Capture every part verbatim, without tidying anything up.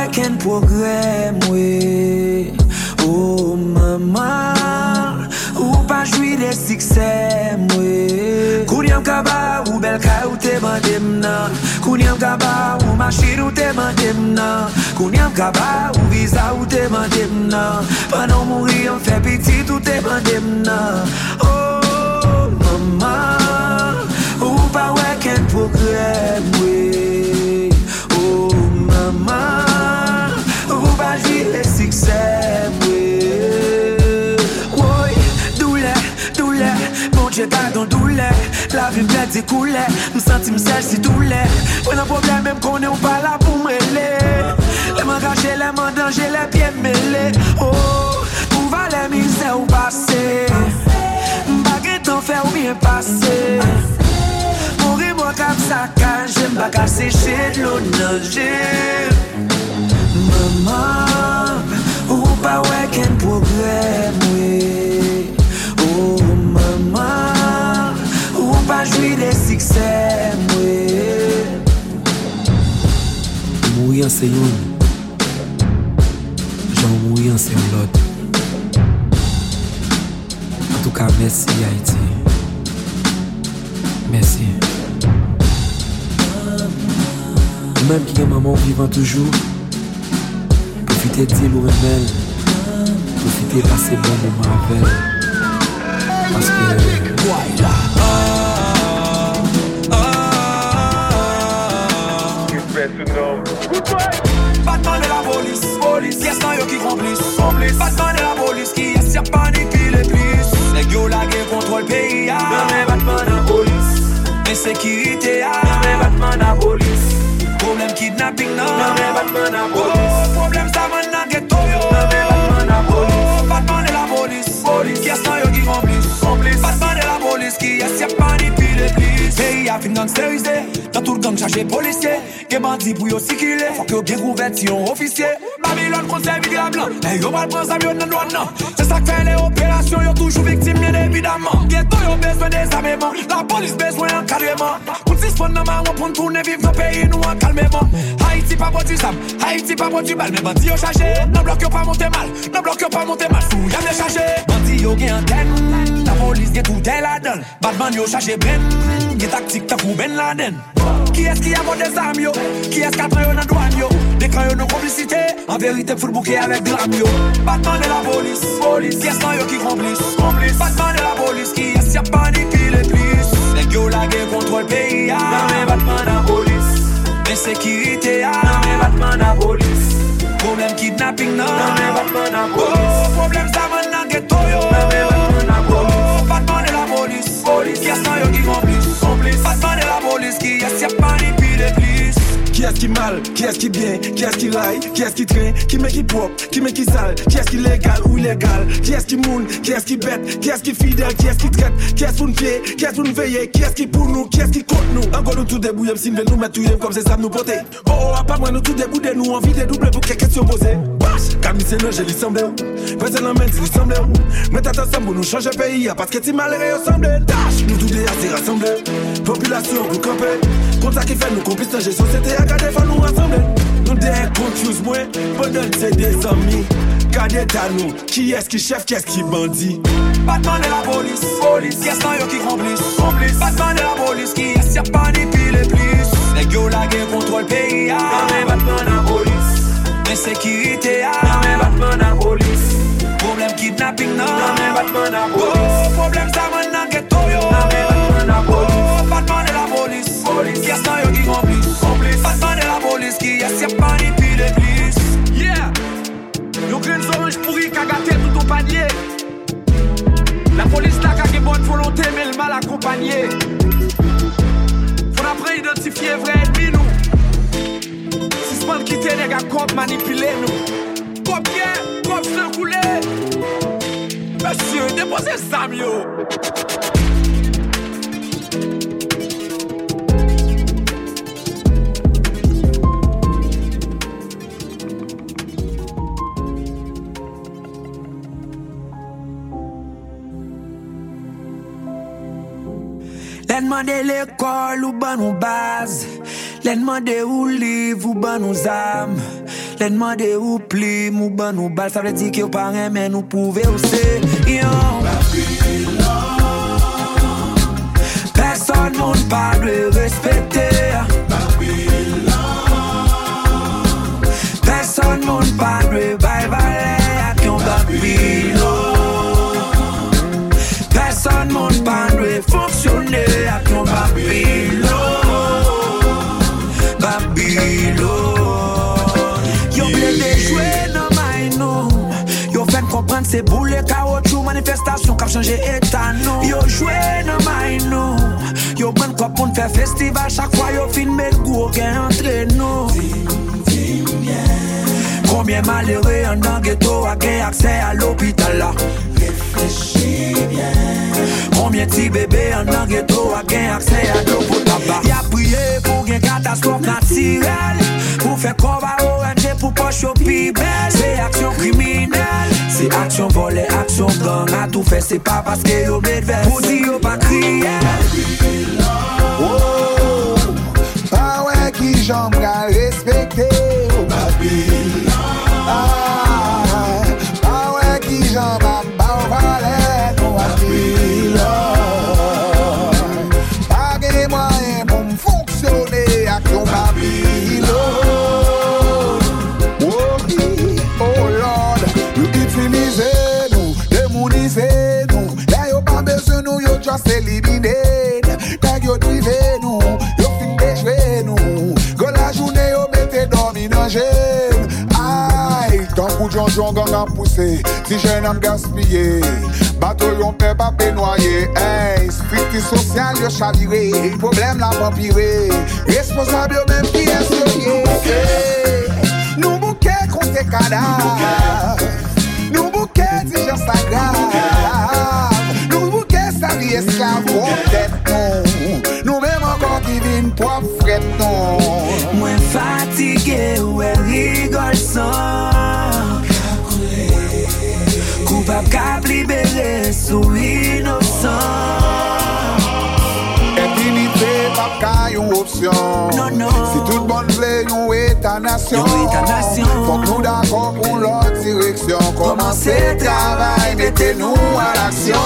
ouais qu'un programme, ouais. Oh maman, ou pas jouir des succès, ouais. Kouniam kaba ou bel ka ou te bandem nan. Kouniam kaba ou machine ou te bandem nan. Kouniam kaba ou visa ou te bandem nan. Pendant mourir on fait petit ou te bandem nan. Oh maman, ou pas ouais qu'un programme, ouais. Oh maman, ou pas jouir des succès, ouais. Oui, douleur, douleur, mon Dieu pardon douleur. La vie me dit couler, me senti me sèche si douleur. On a problème même qu'on est pas là pour me mêler. Les mains cachées, les mains danger, les pieds mêlés. Oh, où va la misère ou passer? M'baguette t'en faire ou bien passer. Mourir moi comme ça quand j'aime pas qu'à sécher de l'eau nager. Maman, ou pas ouais qu'un problème, oui. Oh maman, ou pas jouir des succès, oui. Mourir c'est une, j'en mourir c'est l'autre. En tout cas, merci Haïti. Merci. Même qui est maman vivant toujours. Profitez de l'eau rebelle. Profitez de passer bon moment avec elle. Parce que voilà. Batman de la police, police. Yes, non, yo qui complice, complice. Batman de la police qui est si panique puis les plus. Les gars la guerre contre le pays. Non mais Batman de la police. Insécurité, non mais Batman de la police. Problème kidnapping, non mais Batman de la police. Problème ça maintenant ghetto yo. Non mais Batman de la police. Batman de la police, police. Yes, non, yo qui complice, complice. Batman de la police qui est si panique puis les plus. Pays a fin gangsterisé. Dans tout le gang chargé policier. Que bandit pour yo circuler. Faut que yo bien couvert si on officier. Babylone contre les vidéos blancs. Et yo va prendre ça mieux dans le non. C'est ça que fait les opérations. Yo toujours victime bien évidemment. Ghetto yo besoin des armements. La police besoin d'encadrement. Pour six fois dans ma on pour tourner vivre dans le pays nous en calmement. Haïti pas pour du sam. Haïti pas pour du bal. Mais bandit yo chargé. Non bloc yo pas monter mal. Non bloc yo pas monter mal. Sous y'a bien chargé. Bandit yo gen antenne. La police gen tout est la donne. Badman yo chargé ben. Gen tactique ta pour Ben Laden. Qui est-ce qui a mon des armes yo? Qui est-ce qui a trahi dans douane yo? Des crayons de complicité. En vérité, faut le bouquet avec drame yo. Batman de la police, police. Qui est-ce yo qui complice, complice. Batman de la police. Qui est-ce qui a panique puis les plus. Les gars la guerre contre le pays. Non mais Batman de la police. Insécurité. Non mais Batman de la police. Problème kidnapping. Non mais Batman de la police. Problème ça maintenant ghetto yo. Non mais Batman de la police. Batman de la police, police. Qui est-ce yo qui complice, complice. Batman de la police. Qui est-ce qui a panique puis les plus. Qui est-ce qui mal, qui est-ce qui bien, qui est-ce qui raille, qui est-ce qui traîne, qui met qui propre, qui met qui sale, qui est-ce qui légal ou illégal, qui est-ce qui moune, qui est-ce qui bête, qui est-ce qui fidèle, qui est-ce qui traite, qui est-ce pour nous pied, qui est-ce pour nous veiller, qui est-ce qui pour nous, qui est-ce qui contre nous. Encore nous tout débrouillés, si nous mettre tout comme c'est ça nous porter. Oh oh, à part moi nous tout débrouillés, nous envie de doubler pour quelques questions posées. Bash, comme c'est le jeu, il semble où, personne n'en mène, il semble où. Mettez ensemble pour nous changer pays, parce que si malheureux ressemble. Dash, nous tout déjà rassemblés, population pour camper. Comme ça qui fait nous complices dans la société, à garder, faut nous rassembler. Nous des confuse moi, pendant c'est des amis. Gardez à nous, qui est-ce qui chef, qui est-ce qui bandit. Batman de la police, police. Qui est-ce yo qui complice, complice. Batman de la police, qui est-ce qui a panique puis les plus. Les gars la guerre contre le pays. Non mais Batman de la police. Insécurité. Non mais Batman de la police. Problème kidnapping. Non mais Batman de la police. Problème ça maintenant ghetto yo. Non mais Batman de la police. Batman de la police. Qui est-ce yo qui complice, complice. Batman de la police. Qui est-ce qui a panique puis les plus. Yeah. Yo graines orange pourri qu'a gâté tout ton panier. La police là qu'a bonne volonté mais le mal accompagné. Faut après identifier vrai ennemi nous. Si c'est pas quitter les gars comme manipuler nous. Comme bien, comme se couler. Monsieur, déposez ça yo. Les demander l'école ou ban ou base. Les demander où livre ou ban nous âmes. Les demander où pli ou ban nous bal. Ça veut dire que pas rien mais nous pouvez aussi. Yo. Personne monde pas de respecter. Personne monde pas de bye bye à ton Babylone. Personne monde pas de fonctionner à ton Babylone. Babylone. Yo blé jouer dans my no. Yo fait comprendre c'est boule caoutchouc manifestation qui a changé état non. Yo jouer dans my no. Yo prend quoi pour faire festival chaque fois yo filme le goût gain entre nous. Combien malheureux en dans ghetto a gain accès à l'hôpital là. Réfléchis bien. Combien de bébés en dans ghetto a gain accès à l'eau potable. Y'a prié pour gain catastrophe naturelle. Pour faire combat O N G pour poche au pibel. C'est action criminelle. C'est action volée, action gang. A tout fait c'est pas parce que yo met vers. Pour dire yo pas crier. Oh, pas ouais qui j'aime à respecter. Oh Babylone. Ah, pas ouais qui j'aime à balvaler. Oh Babylone. Pas que moyen pour me fonctionner avec ton Babylone. Oh, oh Lord, you utilisez nous, démonisez nous. Là y'a pas besoin nous, y'a just éliminé. Yo drive nous, yo fin déjouer nous. Go la journée yo mette dormi dans gêne. Aïe, tant coup de jonjon gang a poussé. Si jeune am gaspillé, bateau yon peur pas noyer. Hey, stricti social yo chaviré. Problème la vampiré. Responsable yo même qui est soyé. Nous bouquet contre cadavre. Nous bouquet si j'en s'aggrave. Nous bouquet sa vie esclave. Nous même encore qui vient pour fret non. Moins fatigué ou elle rigole sans. Coupable cap libéré sous innocent. Impunité pas qu'à une option. Non non. Si tout le monde veut une état nation. Faut que nous d'accord pour l'autre direction. Commencez le travail, mettez-nous à l'action.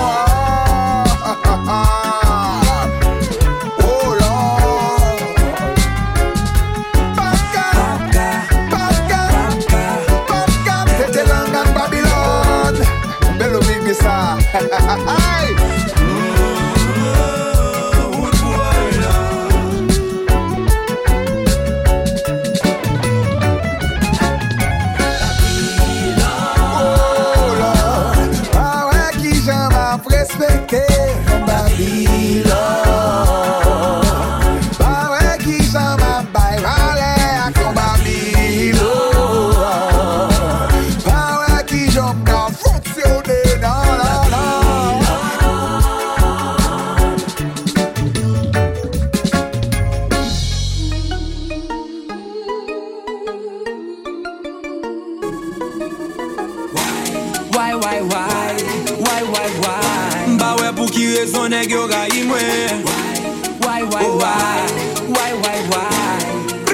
Why, why, why, why, why, why?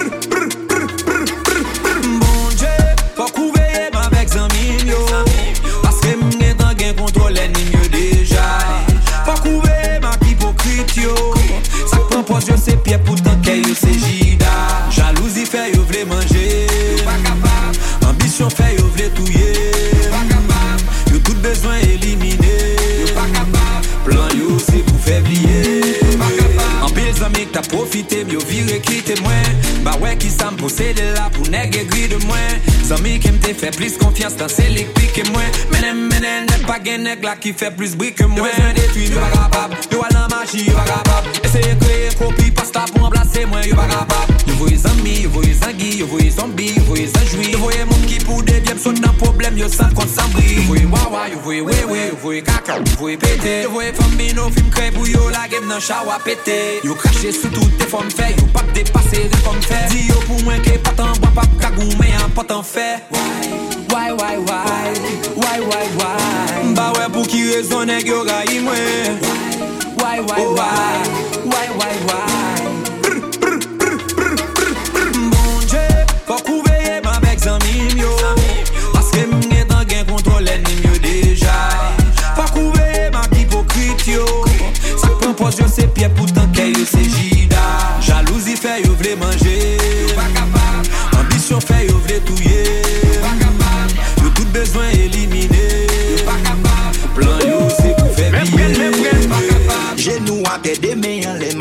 Bon Dieu, faut couver avec Zamim yo. Parce que m'gen tan gen contrôle l'ennemi déjà. Faut couver ma hypocrite yo. Ça prend pose yo c'est pieds pourtant que yo c'est gida. Jalousie fait yo vle manger. Pas capable. Ambition fait yo vle touyer. Pas capable. Yo tout besoin éliminer. Pas capable. Plan yo c'est pour faire plier. En pile amis que t'as profité, mieux viré quitter moi. Bah ouais qui ça me possède là pour nègre gris de moi. Amis qui m'te fait plus confiance dans c'est l'électrique que moi. Menem menem n'est pas gain nègre là qui fait plus bruit que moi. Besoin détruire, yo pas capable. Yo à la magie, yo pas capable. Essayer créer copie pasta pour remplacer moi, yo pas capable. Yo voyez amis, yo voyez zangui, yo voyez zombie, yo voyez zanjoui. Yo voyez monde qui pour des biens saute dans problème, yo sans compte sans bris. Yo voyez wawa, yo voyez ouais ouais, yo voyez caca, yo voyez pété. Yo voyez famille no film crée pour yo la game dans shower pété. Yo craché sous toutes tes formes fait, yo pas dépasser des formes fait. Dis yo pour moi que pas tant bois pas cagou mais un pas tant fait. Why why why why why why? Bah ouais pour qui raison nèg yo raï moi. Why why why why why why?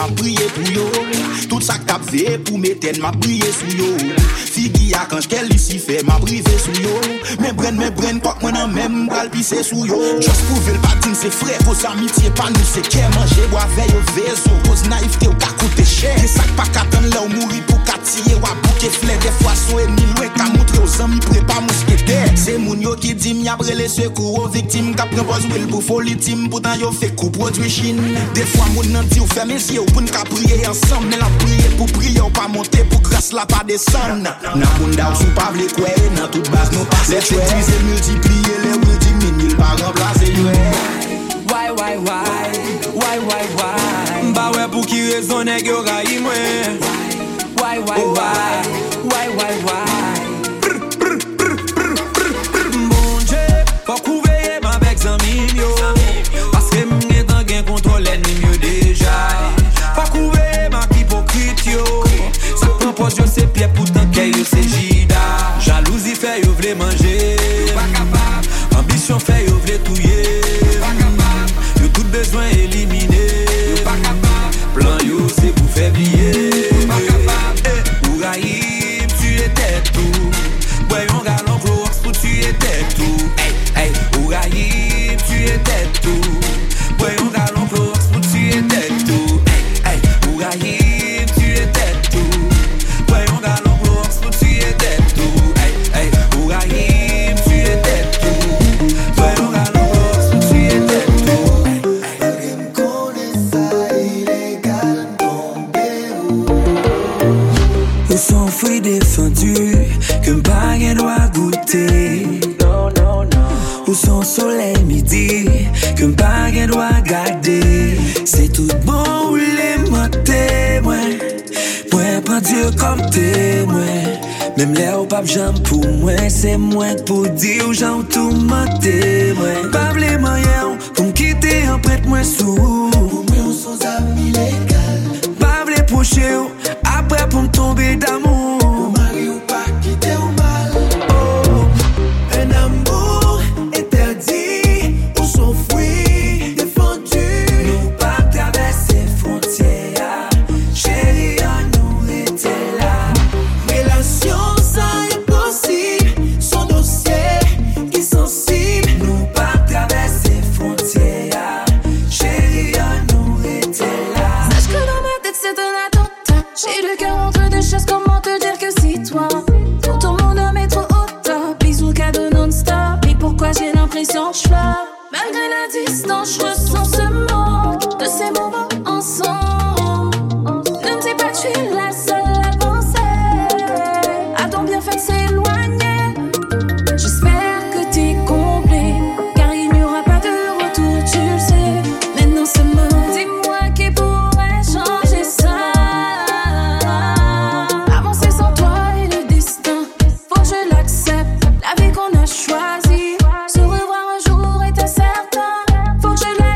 m'a prié pour yo. Tout ça que t'as fait pour m'éteindre, m'a prié sous yo. Figi à quand j'qu'elle ici fait, m'a privé sous yo. Mais bren, mais bren, quoi que moi nan même bral pisser sous yo. Just prouver le patin, c'est frère, vos amitiés pas nous, c'est qu'est manger, boire veille au vaisseau. Cause naïveté ou qu'à coûter cher. C'est ça que pas qu'attendre là ou mourir pour qu'attiller ou à bouquer fleur. Des fois, son ennemi loin qu'à montrer aux amis, prépare mousquetaire. C'est moun yo qui dit m'y après les secours aux victimes. Qu'à prendre pose will pour folie team. Pourtant yo fait coup produit chine. Des fois, moun nan dit ou fait mes yeux pour n'ka prier ensemble. Mais la prier pour prier ou pas monter pour grâce la pas descendre. Nan moun da ou sou pas vle kwe. Nan toute base nous passe les tuer. Multiplier les will diminuer pas remplacer yo. Why, why, why, why, why, why? Bah ouais pour qui raison nèg yo raï moi. Why, why, why, why, why, why? Mon Dieu, faut couvrir ma avec zami yo. Parce que m'gè tan gen contrôle ennemi mieux déjà. Faut couvrir ma hypocrite yo. Ça prend pose yo c'est pied pourtant que yo c'est gida. Jalousie fait yo vle manger. Ambition fait yo vle touyer. Yo tout besoin éliminé. Plan yo c'est pour faire plier. Ouraïm, tu étais tout. Voyons galon clox pour tu étais tout. Hey, hey, Ouraïm, tu étais tout. Voyons galon clox pour tu étais tout. Hey, hey, Ouraïm, tu étais tout. Voyons galon clox pour tu étais tout. Hey, hey, Ouraïm, tu étais tout. Voyons galon clox pour tu étais tout. Hey, hey. Connais ça illégal tombé. Ils sont fruits défendus que m'pas rien doit goûter. Non, non, non. Où son soleil midi que m'pas rien doit garder. C'est tout bon ou les monter, moi. Moi, prends Dieu comme témoin. Même l'air au pape j'aime pour moi. C'est moi pour dire aux gens tout monter, moi. Pas les moyens pour m'quitter en prête moi sous. Pour moi, on sont amis légal. Pas les pocher après pour m'tomber d'amour. Pour mari ou pas quitter au mal. Oh, un amour interdit ou son fruit défendu. Nous pas traverser frontières. Chérie, on nous était là. Relation ça impossible. Son dossier insensible. Nous pas traverser frontières. Chérie, on nous était là. Sache que dans ma tête c'est un attentat. J'ai le cœur entre deux choses, comment te dire que c'est toi. Quand ton monde est trop haut top. Bisous cadeaux non-stop. Et pourquoi j'ai l'impression que je pleure. Malgré la distance, je ressens ce manque de ces moments ensemble. Ne me dis pas que je suis la seule à penser à ton bienfait de s'éloigner. J'espère que t'es comblé, car il n'y aura pas de retour, tu le sais. Maintenant ce mot, dis-moi qui pourrait changer ça. Avancer sans toi et le destin, faut que je l'accepte. La vie qu'on a choisie, se revoir un jour est incertain. Faut que je l'accepte.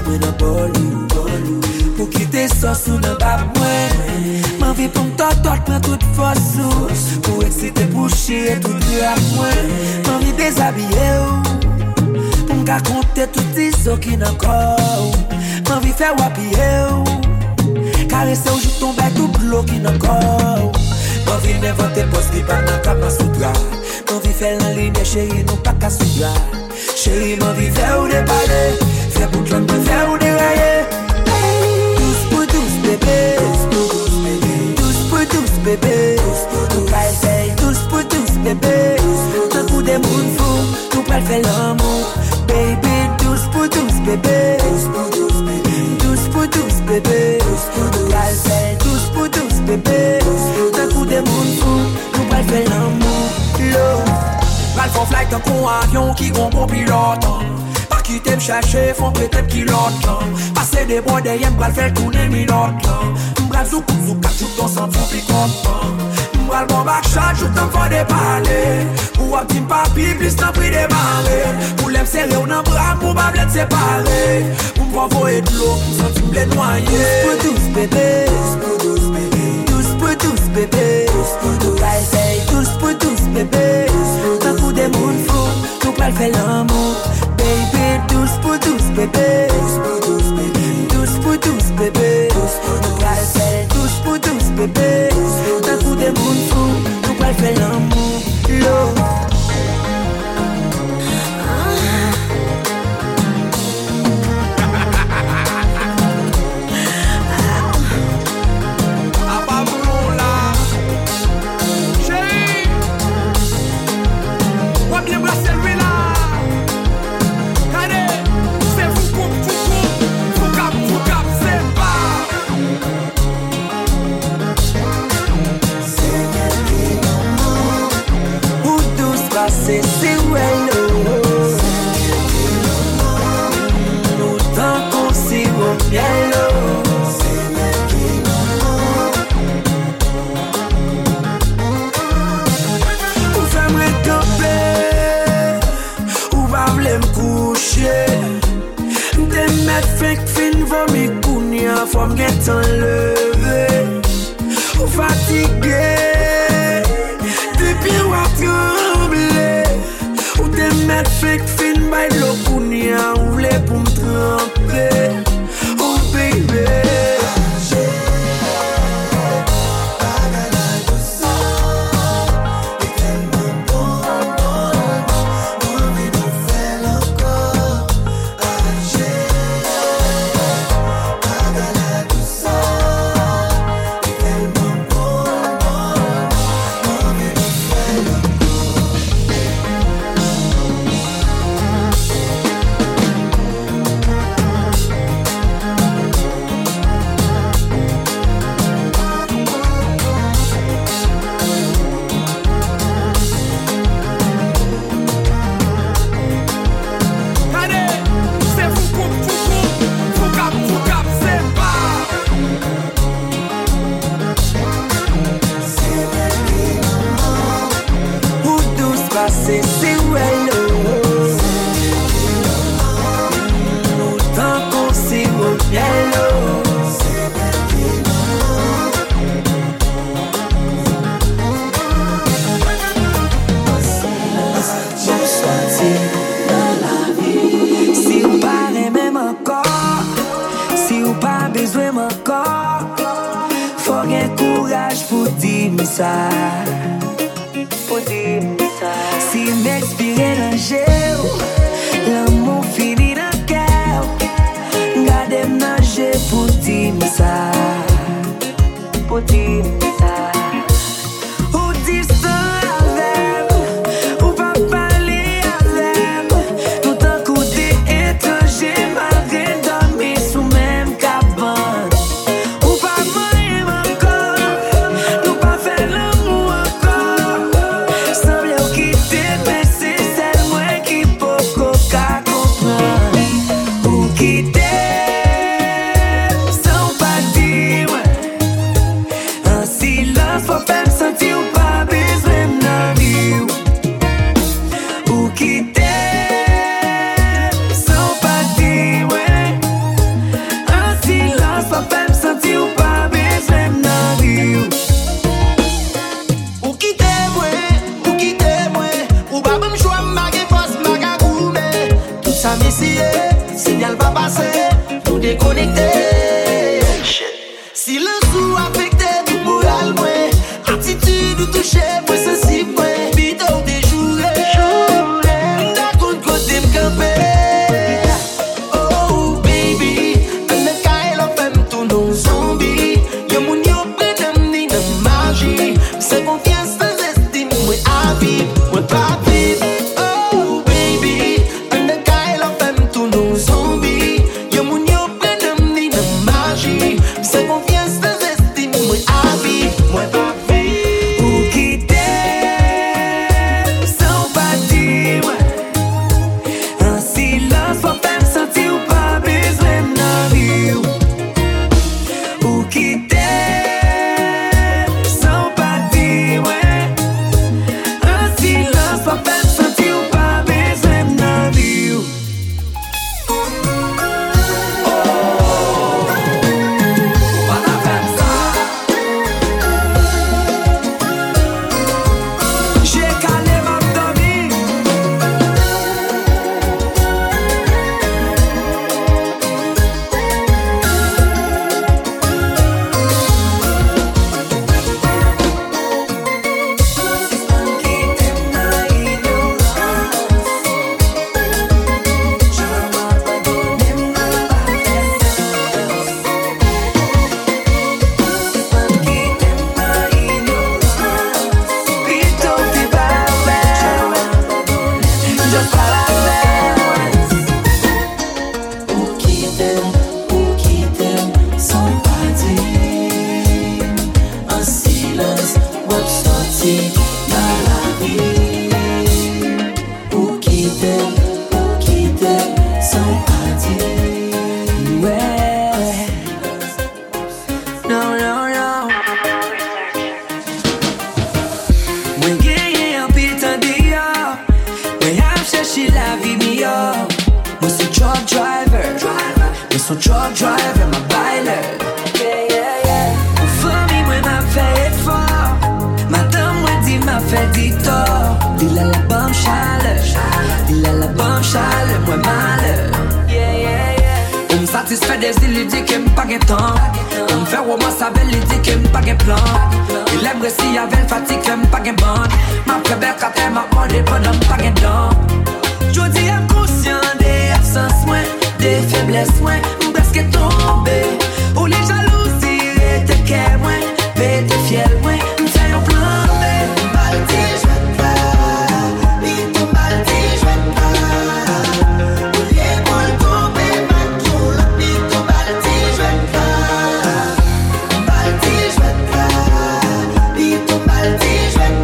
moi dans bolou. Pour quitter ça sous dans bas moi. M'envie pour m'totot prend toute force. Pour exciter pour chier tout à moi. M'envie déshabiller. Pour m'raconter tout les os qui n'en corps. M'envie faire wapiller. Caresser au jour tomber tout bloc qui n'en corps. M'envie m'inventer poste qui pas dans cap sous drap. M'envie faire en ligne chérie nous pas qu'à sous drap. Chérie m'envie faire ou déballer. Faire pour que l'on faire ou dérailler. Douce pour douce bébé. Douce pour douce bébé. Nous pas essayer. Douce pour douce bébé. D'un coup des moun fou. Nous pas faire l'amour. Baby douce pour douce bébé. Douce pour douce bébé. Nous pas essayer. Douce pour douce bébé. D'un coup des moun fou. Nous pas faire l'amour. Love. Val font flight en con avion qui gon bon pilote. Pas quitter me chercher, font prêter pilote. Passer des bois derrière, m'bral faire tourner minute. M'bral zouk zouk kat jouk ton sang font picote. M'bral bon back shot, jouk ton fond des palais. Ou un petit papi, plus t'en prie des marées. Pour l'aime serrer ou n'en bras, pour pas bled séparer. Pour m'envoyer de l'eau, pour sentir m'bled noyer. Douce pour douce bébé. Douce pour douce bébé. Nous pas essayer. Douce pour douce bébé. D'un coup des moun fou, nous pas faire l'amour. Baby, douce pour douce bébé. Douce pour douce bébé. Nous pas essayer. Douce pour douce bébé. D'un coup des moun fou, nous pas faire l'amour. Love. C'est c'est well nous tant qu'on s'y au miel. Ou j'aimerais camper, ou va v'lait m'coucher. Des mètres fin fin vomi kounia, faut m'get enlevé. Ou fatigué, depuis ou à trembler. Ou des mètres fin fin by l'eau kounia, ou v'lait pour m'tremper. Oh baby. C'est c'est well nous tant qu'on s'y au miel. Si ou pas même encore, si ou pas besoin encore, faut un courage pour dire ça. Pour dire si m'expirer dans gel, l'amour finit dans le cœur. Gardez-moi nager pour dire ça. Pour dire ça. Ou distant avec, ou pas parler avec. Tout un coup d'étranger, malgré dormir sous même cabane. Ou pas mourir encore, nous pas faire l'amour encore. Semble au quitter, mais c'est celle moi qui peut qu'à comprendre. Ou quitter, sans pas dire, ainsi déconnecté. Si le sou affecté tout moral, moi, attitude ou touché, moi, sensible, moi, bito déjoué. D'un coup de côté m'campé. Oh, baby, un de kaye la femme tout non zombie. Yo moun yo prenne ni de magie. C'est confiance sans estime, moi, à vivre, moi, pas vivre. Oh, baby, un de kaye la femme tout non zombie. Yo moun yo prenne ni de magie. C'est confiance sans estime, moi, à vivre, moi, pas vivre. Ou quitter sans pas dire un silence pour faire me sentir ou pas besoin de vie. Ou quitter sans pas dire un silence pour faire me sentir ou pas besoin de vie. J'ai calé ma famille. Ou qui t'aime, ou qui t'aime, sans pas dire un silence, ou sorti dans la vie. Ou qui t'aime, ou qui t'aime, sans pas dire. Ouais. Non, non, non. Mwen genye an pil tan diyo. Mwen ap cherchi la vi meilleure. Mwen son truck driver. Mwen son truck driver, ma bailer. Yeah, yeah, yeah. Ou fami mwen ma fè effort. Madame mwen di ma fè di tort. Dil a la bam chale. Dil a la bam chale, mwen malheur. Yeah, yeah, yeah. Ou m satisfait des îles, il dit que m pa gen temps. Ou m fè romance avec il dit que m pa gen plan. Il aime si avec fatigue que m pa gen bande. Ma prébelle quand elle m'a demandé pendant m pa gen dent. Jodi am conscient des absences moins, des faiblesses moins. M presque tombé. Ou les jalousies étaient qu'est moins, pété fiel moins. M fè yon plan B. Maldi, j'vais pas, bito maldi, j'vais pas. Ou lié pour tomber, ma toule, bito maldi, j'vais pas. Maldi, j'vais pas, bito maldi, j'vais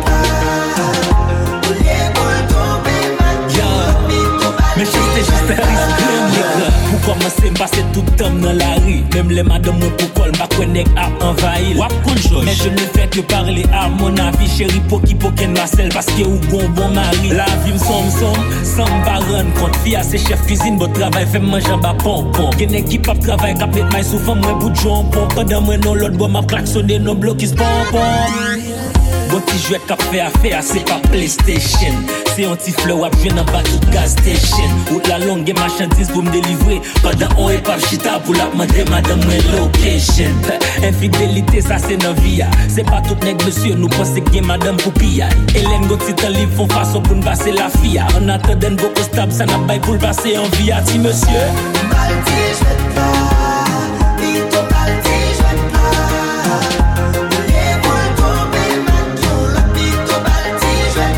pas. Ou lié pour tomber, ma toule, bito Mais maldi, juste juste j'vais pas. Pour commencer, passer tout le temps dans la rue. Même les madames, moi, pour col, ma connect a envahi. Mais je ne fais que parler à mon avis. Chérie, pour qui, pour qu'elle m'asselle, parce que ou bon, bon mari. La vie me somme, somme, sans me rendre compte. Fille à ses chefs cuisine, bon travail, fait manger en bas pompon. Y'en a qui pas travail, qui met maille souvent, moi, bout de jambon. Pendant moi, non, l'autre, bon, m'a klaxonné, non, bloc, qui se pompon. Bon petit jouet qu'a fait affaire, c'est pas PlayStation. C'est un petit fleur wap vient en bas de gas station. Ou la longue et marchandise pour me délivrer. Pendant on est pas chita pour la demander madame mon location. Infidélité ça c'est nos vie. C'est pas tout nèg monsieur nous pensons que madame pour piller. Hélène Gauthier dans livre font façon pour nous passer la fille. En attendant beaucoup stable ça n'a pas pour le passer en vie à ti monsieur. Maldi, j'vais pas, bito maldi, j'vais pas. Ou lié pour tomber, ma toule, bito maldi, j'vais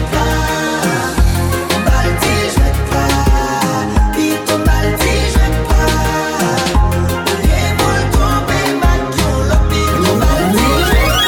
pas. Maldi, j'vais pas, bito maldi, j'vais pas. Ou lié pour tomber, ma toule, bito maldi, j'vais pas.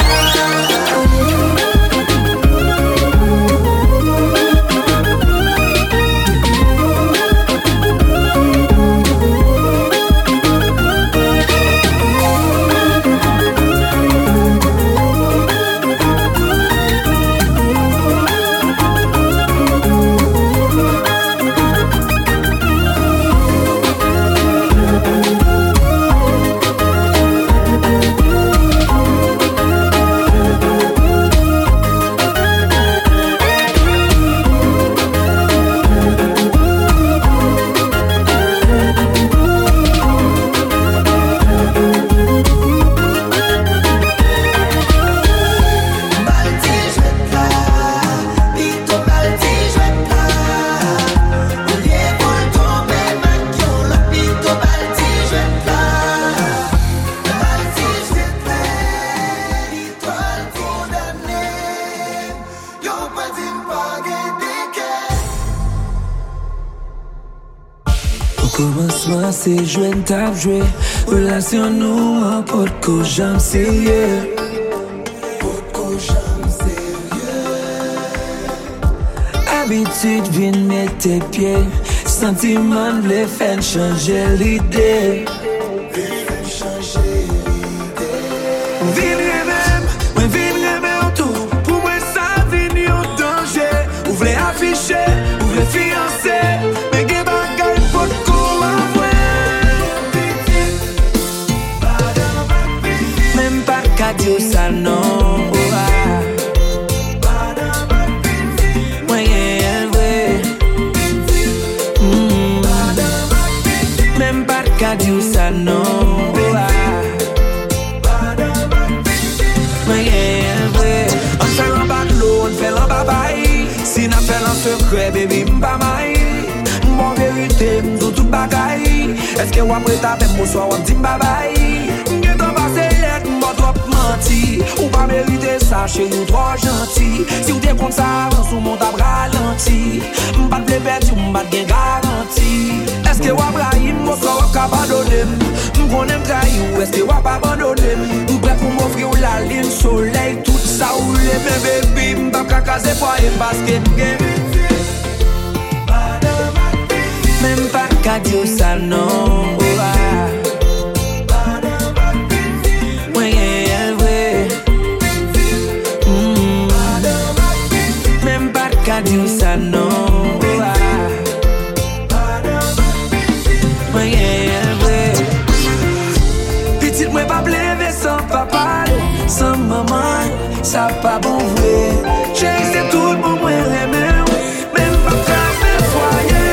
Commencement c'est jouer une table jouer. Relation nous en pot que j'aime sérieux. Habitude vient mettre tes pieds. Sentiment les fait changer l'idée. Vine même, moi vine même tout. Pour moi ça vient en danger. Ou voulez afficher, ou voulez fiancer. Mais que bagaille pour qu'on même pas qu'à dire ça non. Dire ça non. On fait un batlo, on fait un babaye. Si n'a fait un secret, baby, m'pa maï. Mon vérité, m'dou tout bagaille. Est-ce que wap prêt à faire mon soir, wap dit m'babaye. M'gen t'en passe let, m'ba trop menti. Ou pas mériter ça, chez nous trop gentil. Si ou t'es contre ça, on sous mon tab ralenti. M'pa te perdu, m'pa te gen garanti. Est-ce que wap raïm, mon soir wap abandonné. M'konnen trahi ou est-ce que wap abandonné. M'prêt pour m'offrir la ligne soleil. Tout ça ou les mes baby. M'pa kakaze foyer parce que m'gen. Même pas qu'à dire ça non. Même pas qu'à dire ça non. Petite moi pas pleurer sans papa, sans maman, ça pas bon vrai. Chérie c'est tout pour moi aimer, même pas faire foyer.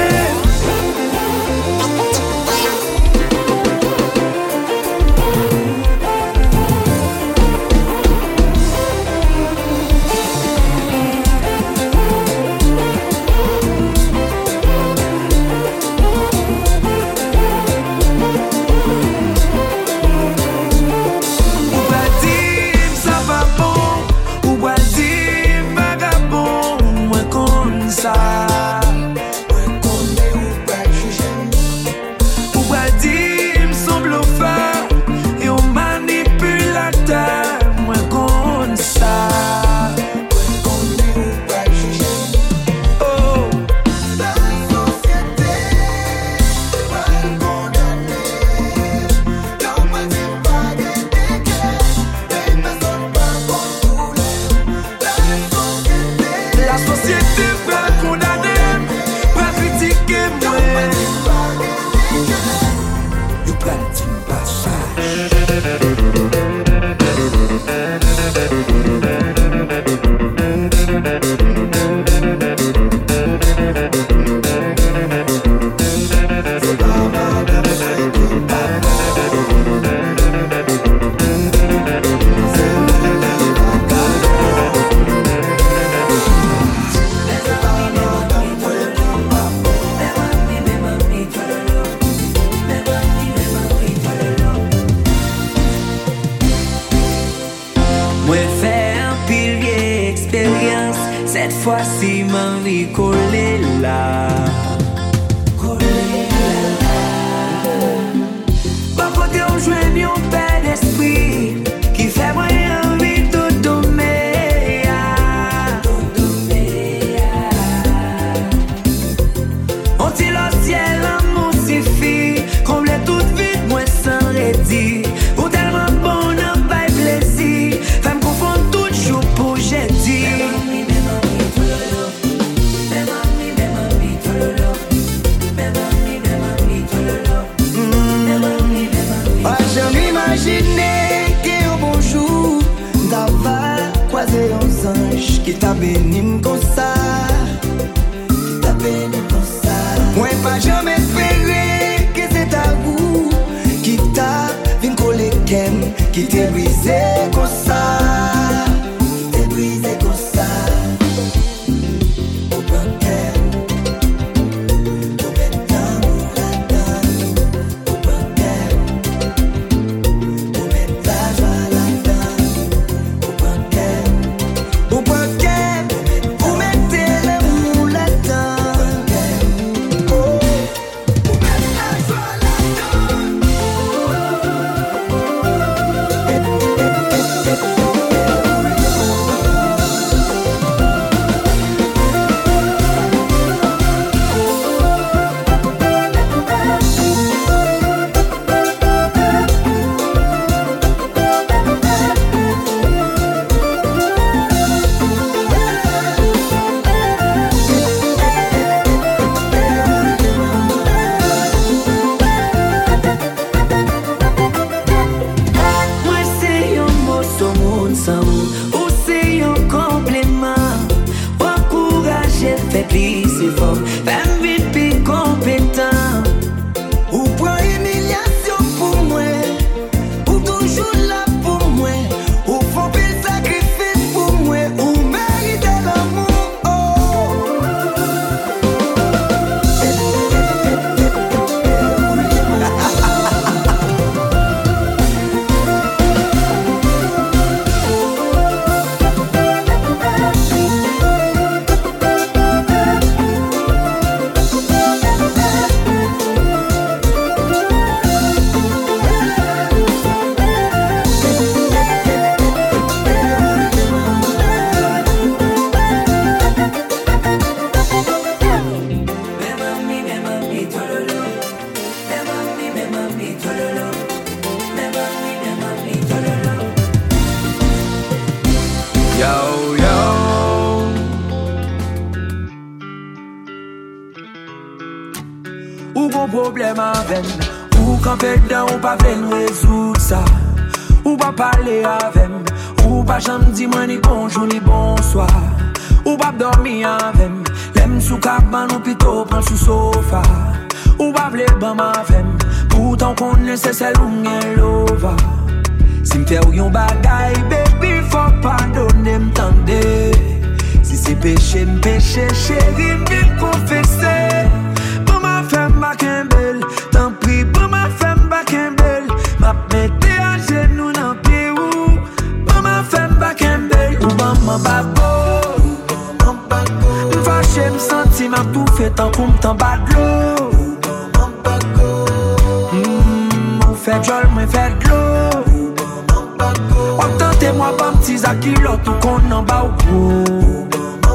Cette fois-ci, ma vie collée là. Collée là. Pas côté on joue un père d'esprit qui fait moi envie de dommer. On tire le ciel, l'amour suffit. Combler toute vie, moi sans redit. Ou tellement bon, n'a pas plaisir. Femme confond tout jour pour j'ai dit. Imaginez qu'un bon jour d'avoir croisé un ange qui t'a béni comme ça, qui t'a béni comme ça. Moi pas jamais espéré que c'est à vous qui t'a venu coller kem, qui t'est brisé comme ça, qui t'est brisé comme ça. Au banquet, au béton, la donne, au banquet. Yo, yo. Ou gon problème avec ou quand fait dedans ou pas venir résoudre ça. Ou pas parler avec ou pas jamais dire moi ni bonjour ni bonsoir. Ou pas dormir avec l'aime sous cabane ou plutôt prendre sous sofa. Ou pas vle ban ma femme pourtant qu'on ne sait celle où m'en lova. Si m'fait ou yon bagay baby faut pardonner m'tende. Si c'est péché m'péché chérie m'vin confesser. Pour ma femme ma kembel tant pis pour ma femme ma kembel. M'a mette à genoux dans pied ou pour ma femme ma kembel. Ou ban ma babo m'fâché m'senti m'a tout fait tant qu'on m't'en bat de l'eau. Fait jol, moi fait de l'eau. Entendez-moi pas m'ti zakilot tout qu'on en bas au bout.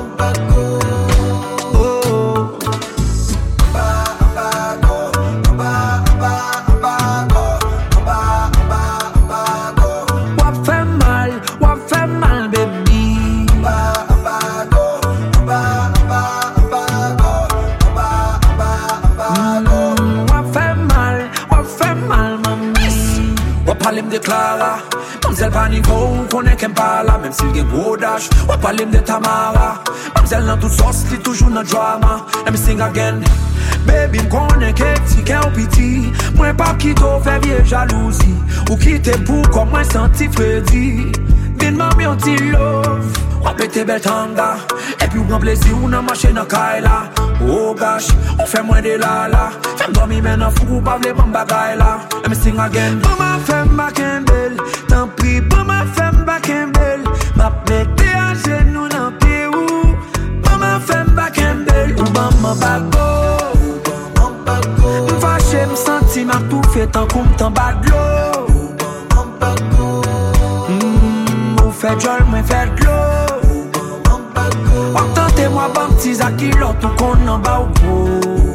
Wap fait mal, wap fait mal baby. Wap fait mal, wap fait mal. Wap parle de Clara, Mamzelle pas niveau, connaît qu'elle pas là, même s'il y a gros dash. Wap parle de Tamara, Mamzelle dans toute sauce, li toujours dans drama. Let me sing again. Baby m'connais qu'elle petit qu'elle petit. Moi pas qui t'o fait vieux jalousie. Ou qui t'es pour comme moi senti Freddy. Vin mami on ti love. Wap ete bel tanga. Et puis ou grand plaisir ou nan marché nan kaila. Oh gosh, on fait moins de la la. Femme dormi men nan fou ou pas vle bon bagay la. Let me sing again. Pour ma femme ma kembel, tant pis pour ma femme ma kembel. Ma mette à genoux nan pied ou. Pour ma femme ma kembel, ou ban ma babo. M'fâché m'senti m'a tout fait tant qu'on m't'en bat de l'eau. Ou fait jol moi fait de l'eau. Entendez-moi pas m'ti zakilot tout qu'on en bas au bout.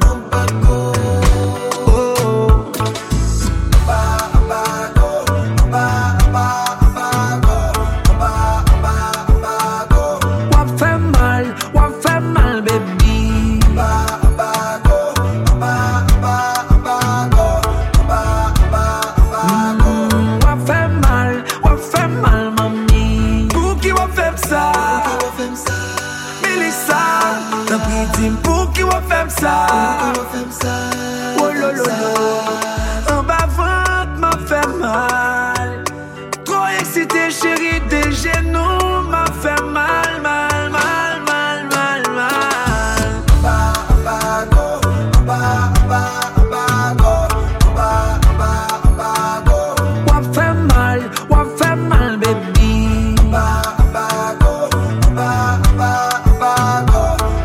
Pour qui on fait ça? Oh lo lo lo. En bas ventre m'a fait mal. Trop excité chérie des genoux m'a fait mal, mal, mal, mal, mal, mal. Ba ba go, ba ba ba go, ba ba ba go. On fait mal, on fait mal baby. Ba ba go, ba ba ba go.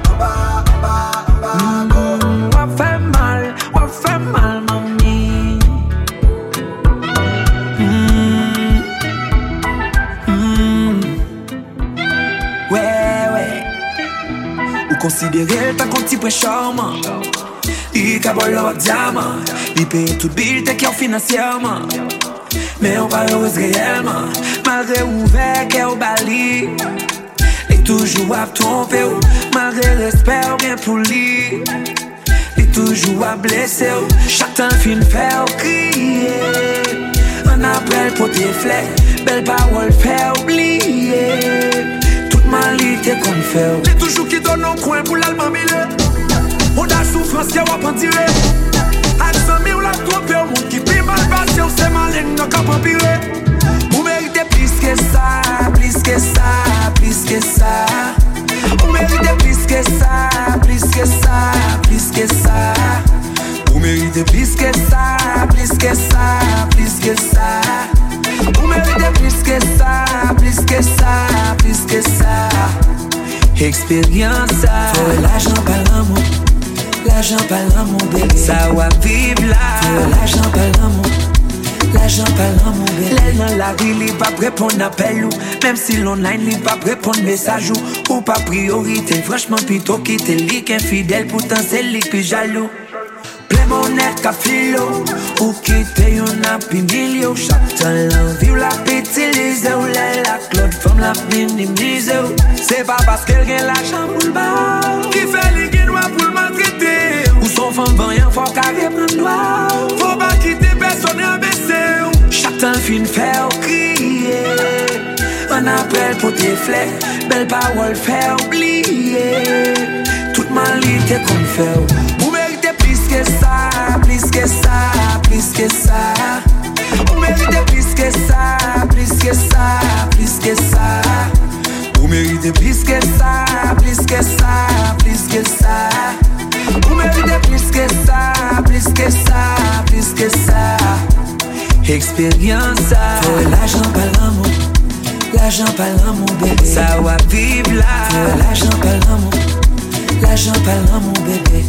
Considéré tant qu'on t'y prend charmant. Il cabole leur diamant. Il paye tout bill t'es qui en financièrement. Mais on pas heureuse réellement. Malgré ouvert qu'est au bali. Il toujours à tromper. Malgré respect bien pour lui. Il toujours à blesser. Chacun fin faire crier. On après pour tes flèches. Belle parole fait oublier. Malité qu'on fait. Les toujours qui donnent un coin pour l'allemand mille. On a souffrance qui a pas tiré. Accent mille la trompé au monde qui prie mal passé. On s'est malin, n'a qu'à pas empirer. Vous méritez plus que ça, plus que ça, plus que ça. Vous méritez plus que ça, plus que ça, plus que ça. Vous méritez plus que ça, plus que ça, plus que ça. Vous méritez plus que ça, plus que ça, plus que ça. Expérience ça. Faut l'argent pas l'amour, l'argent pas l'amour bébé. Ça va vivre là. Faut l'argent pas l'amour, l'argent pas l'amour bébé. L'aile dans la rue, il pas répondre appel ou. Même si l'online, il pas répondre message ou. Ou pas priorité, franchement plutôt quitter lui qu'infidèle. Pourtant c'est lui qui jaloux. Plein mon nez qu'à filo. Ou quitter yon api milio. Chaque temps l'envie ou la pétiliser ou la la Claude femme la ap minimize ou. C'est pas parce qu'elle gagne l'argent pour le bar qui fait les gains pour le maltraiter. Ou son femme va rien, faut qu'elle reprenne droit. Faut pas quitter personne et baisser. Chaque temps fin faire crier. Un appel pour tes flèches, belle parole faire oublier. Toute malité qu'on fait. Vous méritez plus que ça, plus que ça, plus que ça. Vous méritez plus que ça, plus que ça, plus que ça. Vous méritez plus que ça, plus que ça, plus que ça. Vous méritez plus que ça, plus que ça, plus que ça. Expérience ça. Faut l'argent pas l'amour, l'argent pas l'amour bébé. Ça va vivre là. Faut l'argent pas l'amour, l'argent pas l'amour bébé.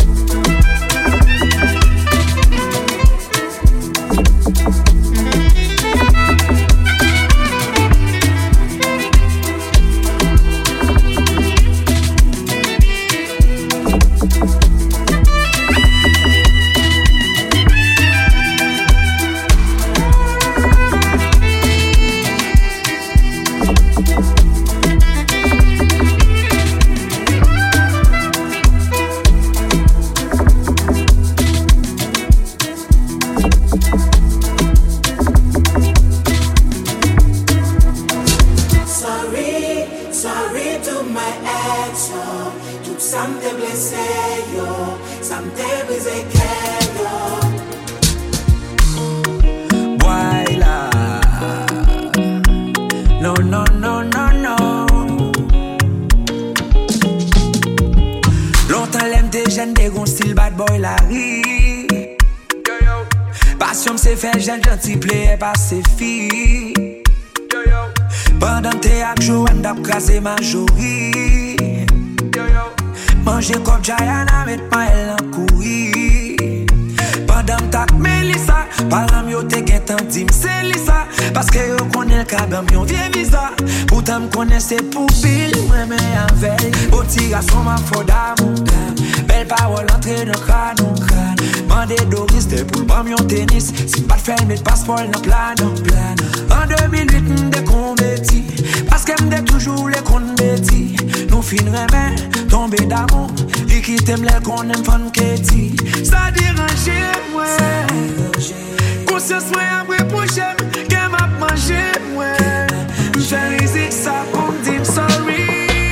Jeune gentil plaît par ses filles. Pendant tes actes, Joanne d'ap crasé ma jolie. Manger comme Jayana, met ma elle en courir. Pendant ta Mélissa, parlant yo te gen tan dim c'est Lisa. Parce que yo connaît le cabam yon vie visa. Pourtant m'connais c'est pour pile, moi mais avec. Beau petit garçon ma faute d'amour. Belle parole entrée dans crâne. Mandé Doris te pour le yon tennis. Si pas de faire mes passeports dans plan. En deux mille huit m'de converti. Parce que m'de toujours les comptes bêtis. Nous finirons main, tomber d'amour. Et qui t'aime les qu'on aime fan Katie. Ça dérange moi. Conscience moi après pour j'aime. Qu'elle m'a mangé moi. J'fais musique ça pour me dire sorry.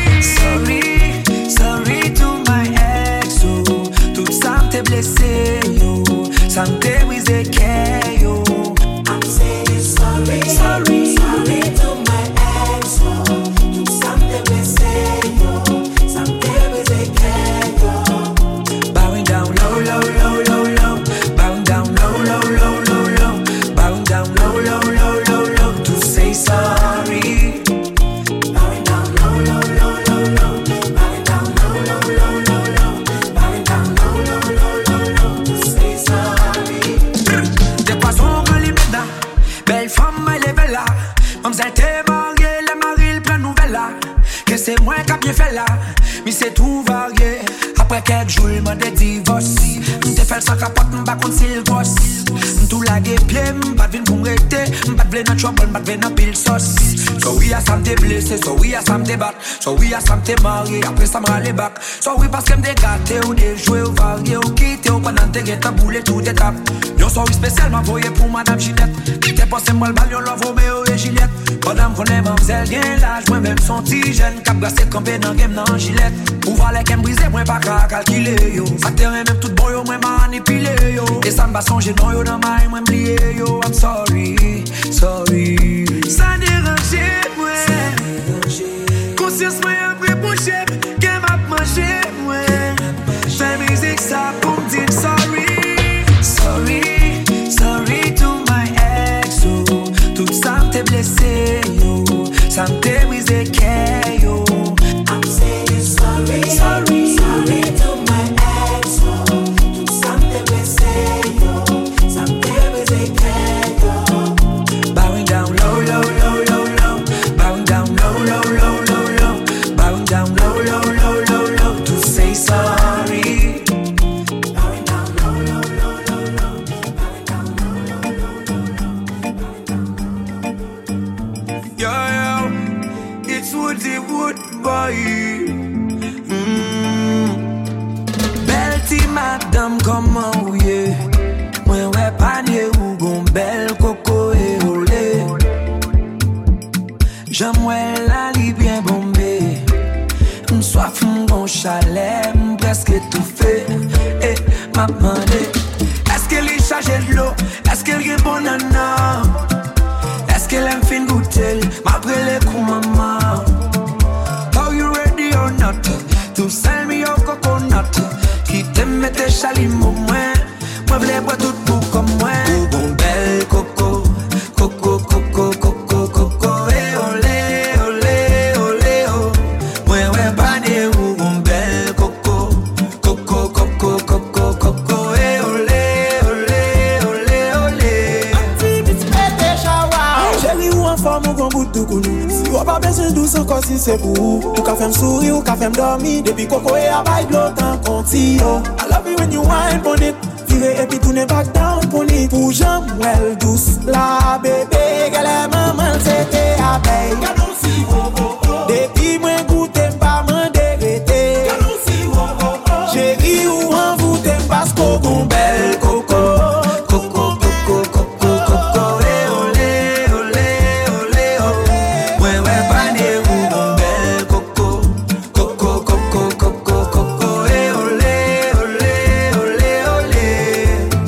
Sorry, sorry to my ex. Oh. Tout ça m'te blessé yo. Ça m'te brisé que yo. I'm saying sorry. Sorry, sorry to my ex. Oh. Tout ça m'te blessé yo. Ça m'te brisé que yo. Bowing down low, low, low, low, low. Bowing down low, low, low, low, low. Bowing down low, low, low, low, low. To say sorry. Bowing down low, low, low, low, low. Bowing down low, low, low, low, low. Bowing down low, low, low, low, low. To say sorry. De poisson qu'on limite là. Belle femme, elle est belle là. Mamzelle t'es mariée, les maris, le plein nouvelle là. Que c'est moi qui a bien fait là. Mais c'est tout varié. Après quelques jours, il m'a des divorces. M'te fait le sac à pote, m'ba contre s'il gosse. M'tou la pied, m'pas de vin pour m'rêter. M'pas de vle dans trouble, m'pas de vle dans pile sauce. So oui, à ça m'te blessé, so oui, à ça m'te bat. So oui, à ça m'te marié, après ça m'rale back. So oui, parce que m'te gâté ou déjoué ou varié ou quitté ou pendant t'es guetta boulé tout étape. Yon so oui spécialement voyé pour madame Ginette. Qui t'es passé moi le bal, yon love Romeo et Juliette. Madame connaît mamzelle bien l'âge, moi même son petit jeune. Cap brassé campé dans game dans Gillette. Ou valait qu'elle brisé, moi pas qu'à calculer yo. Facteur même tout bon yo, moi manipulé yo. Et ça m'ba songer non yo dans ma moi m'blié yo. I'm sorry, sorry. Ça dérange moi. Conscience moi après pour chef. Qu'elle m'a mangé moi. Fais musique ça pour me dire sorry. Sorry, sorry to my ex oh. Tout ça m'te blessé yo. Ça m'te brisé que yo. I'm saying sorry, sorry, sorry to my ex oh. Tout ça m'te blessé yo. Ça m'te brisé que yo. Bowing down low, low, low, low, low. Bowing down low, low, low, low, low. Bowing down low, low, low, low, low. To say sorry. Bowing down low, low, low, low, low. Bowing down low, low, low, low, low. Bowing down low, low, low, low. Yo, yo. it's Woody Wood boy. Mm. Belle ti madame, comment ou ye? Moi ouais panier ou gon belle coco et olé. J'aimerais la li bien bombée. M'soif m'gon chalet, m'presque étouffé. Eh, m'a demandé, est-ce qu'elle est chargée de l'eau? Est-ce qu'elle est bonne nana? Est-ce qu'elle aime fin goûter? M'après les coups maman. Are you ready or not? To sell me your coconut. Qui t'aime mettre chalimau moins. Moi v'lais boire tout pour comme moi. Bon belle coco, coco, coco, coco, coco. Eh olé, olé, olé, oh. Moi ouais bané ou bon belle coco, coco, coco, coco, coco. Eh olé, olé, olé, olé. Activité pété chawa. Chérie ou en forme ou gon bout de counou. Si ou pas besoin douce encore si c'est pour ou. Ou ka fèm souri ou ka fèm dormi. Depuis coco et abaye de l'autant conti yo. I love you when you wine on it. Et puis tourne back down pour les pour jambes well douce la bébé qu'elle est maman c'était à paye depuis moi goûter pas m'en déréter chérie ou en vous t'aime parce qu'on gon belle coco coco coco coco coco eh olé olé olé oh ouais ouais pané ou gon belle coco coco coco coco coco eh olé olé olé olé.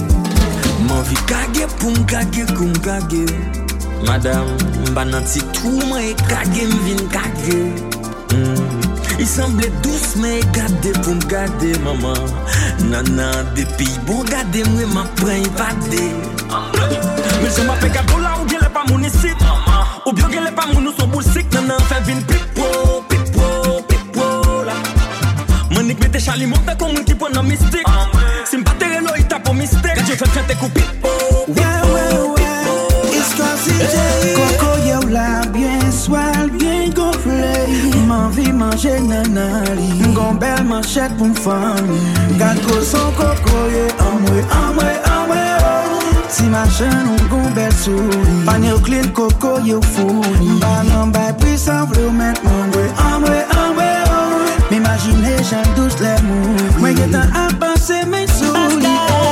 Pour m'kage, pour m'kage. Madame, m'bananti tout, moi kage, m'vin kage. Mm. Il semblait douce, mais gade pour m'gade, maman. Nana, depuis bon gade, moi m'apprends évade. Mais je m'appelle Gado là, ou bien les pas mon ici. Ou bien les pas mon nous sont boulsiques. Nana, fait vin pipo, pipo, pipo là. Monique mette chalimot, t'as comme un qui prend un mystique. Si m'batte l'eau, il tape au mystère. Quand je fais faire tes coups pipo. Ouais, ouais, ouais, histoire si j'ai Coco yo la bien swal, bien gonflé. M'envie manger nanali. M'gon belle manchette pour m'famille. Gâteau son coco yo, amwe, amwe, amwe, oh. Si machin ou gon belle souris. Panier clean coco yo founi. M'banan bay puissant v'lou mettre m'amwe, amwe, amwe, oh. M'imaginer j'aime douce les mouilles. Moi y'est un à penser mes souris.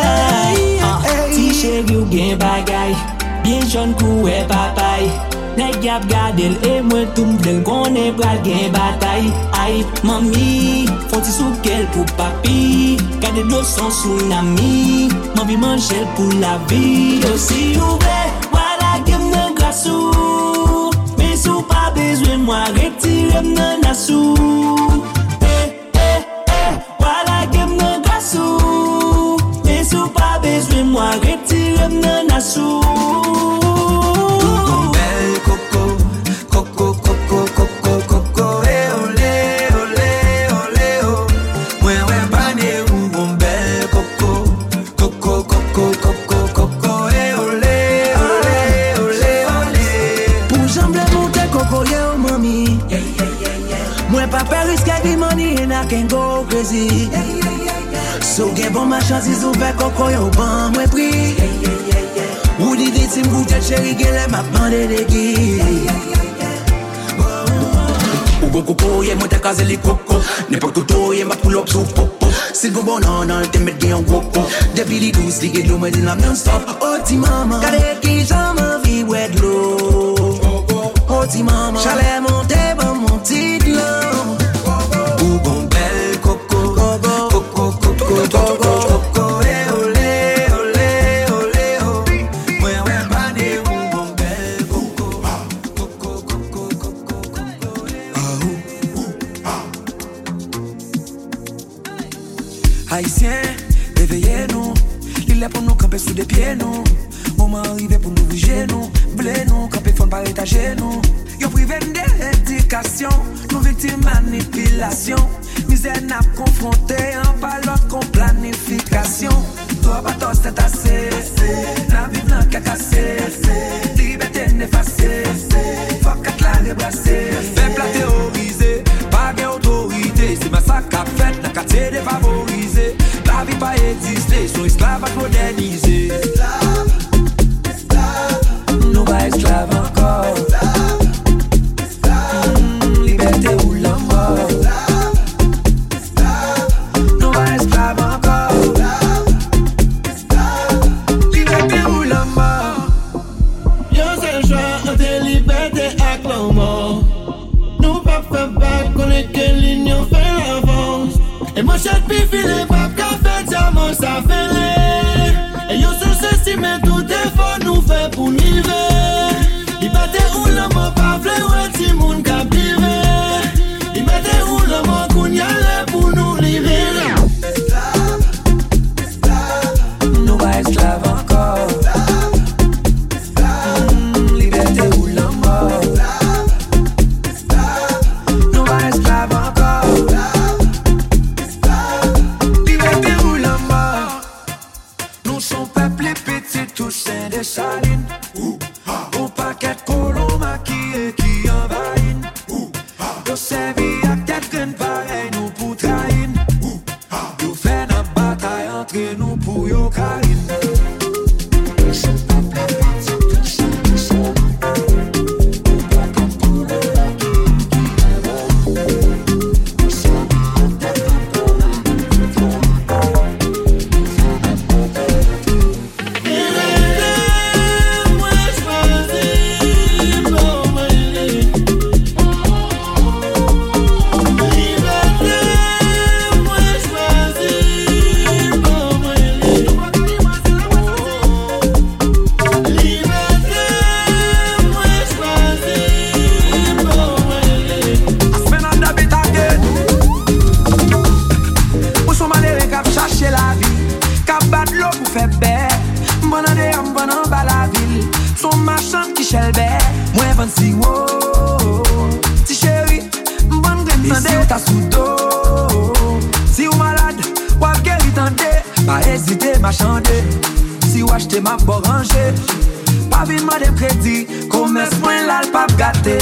Chéri ou gen bagay, bien jeune kou e papay. Nèg yap gade l e mwen tou m'del konen pral gen batay. Ay, mami, foti sou kel pou papi. Gade do son tsunami, m'envie manger pour la vie. Yo si ou ve, wala gem nan grasou. Mais sou pas besoin moi retire nan nasou. Eh, eh, eh, wala gem nan grasou. Mais sou pas besoin moi retire nan nasou. Belle coco, coco, coco, coco, coco, eh olé, olé, olé, oh. Ouais, ouais, bané ou bon belle coco, coco, coco, coco, coco, eh olé, olé, olé, olé. Pour jambe monter coco, yo mami. Yeah, yeah, yeah, yeah. Moi pas peur risque de money and I can go crazy. Yeah, yeah, yeah, yeah. So get bon ma chance is ouvert coco yo ban moi prix. Yeah, yeah, yeah, yeah. Ou l'idée c'est m'goûter chéri gele m'a demandé de qui. Yeah, yeah, yeah, yeah. Ou go coco ye monte kaze li coco. N'importe où ye ma pull up sous popo. Si go bon non non te met bien coco. Depuis li douce li get l'eau me dit la non stop. Oh ti maman, kade ki j'en vie ouais de l'eau. Oh ti maman, chalet monte bon mon petit l'homme. Ou bon belle coco, coco, coco, coco, coco, eh olé, olé, olé, oh. Ouais, ouais, bané ou bon belle coco, coco, coco, coco, coco, eh Haïtiens, réveillez-nous. Il est pour nous camper sous des pieds, nous. Moment arrivé pour nous bouger, nous. Blé, nous, camper fond par étager, nous. Yo privé d'éducation, nous victimes manipulation. Misère n'a confronté, en pas l'autre qu'on planification. Toi, pas toi, c'est assez. La vie n'a qu'à casser. Liberté n'effacée. Faut qu'à la rebrasser. Peuple à théoriser, pas d'autorité. C'est ma sac à fête, n'a qu'à te défavoriser. La vie pas exister, son esclavage modernisé. Esclave, esclave. Nous pas esclaves encore. Esclave, esclave. Cachet pi file pap ka fait diamant sa fele. Et yo sous-estime tout effort nous fait pour niver. Il battait où l'homme pas vle ouais ti moun ka privé. Il battait où l'homme qu'on y allait pour nous libérer. Nous pas esclaves encore. Mmh, liberté ou la mort. Nous pas esclaves encore. Liberté ou la mort. Nous sommes peuple petit, tous saints des salines. Au paquet de colons maquillés qui envahissent. Nous servis à quelqu'un pareil, nous pour trahir. Nous faisons une bataille entre nous pour yo carine. Ma bon rangé, pas vite ma de crédit, commerce moins là le pape gâté.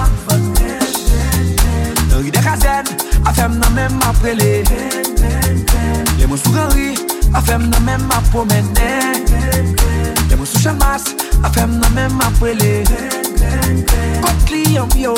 Dans rue des casernes, a fait m'en même après les. Les mots sous Henri, a fait m'en même ma promener. Les mots sous Chalmas, a fait m'en même après les. Côte client bio.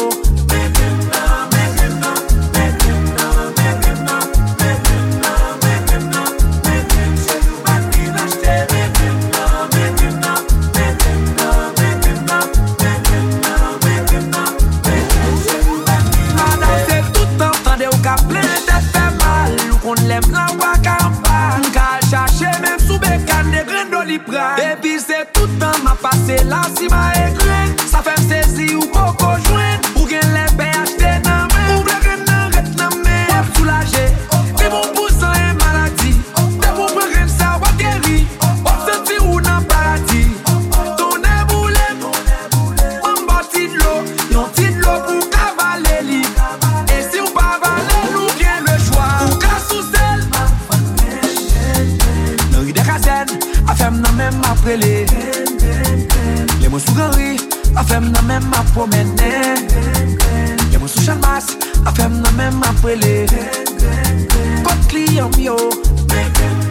Et puis c'est tout le temps m'a passé là si m'a écrit. Ça fait me saisir ou beaucoup joindre. Pour qu'elle les paye acheter dans main. Ou bien qu'elle n'arrête dans main. Pour soulager. Mais mon poussant est maladie. Mais pour prendre ça va guérir. On sentir ou dans paradis. Ton éboulé. On bâtit de l'eau. Yon petit de l'eau pour cavaler lit. Et si on pas valer nous vient le choix. Ou qu'à sous celle. Dans rue des casernes. A fait m'en même après les. Les mots sous Henri, a fait m'en même ma promener. Les mots sous Chalmas, a fait m'en même après les. Côte client bio.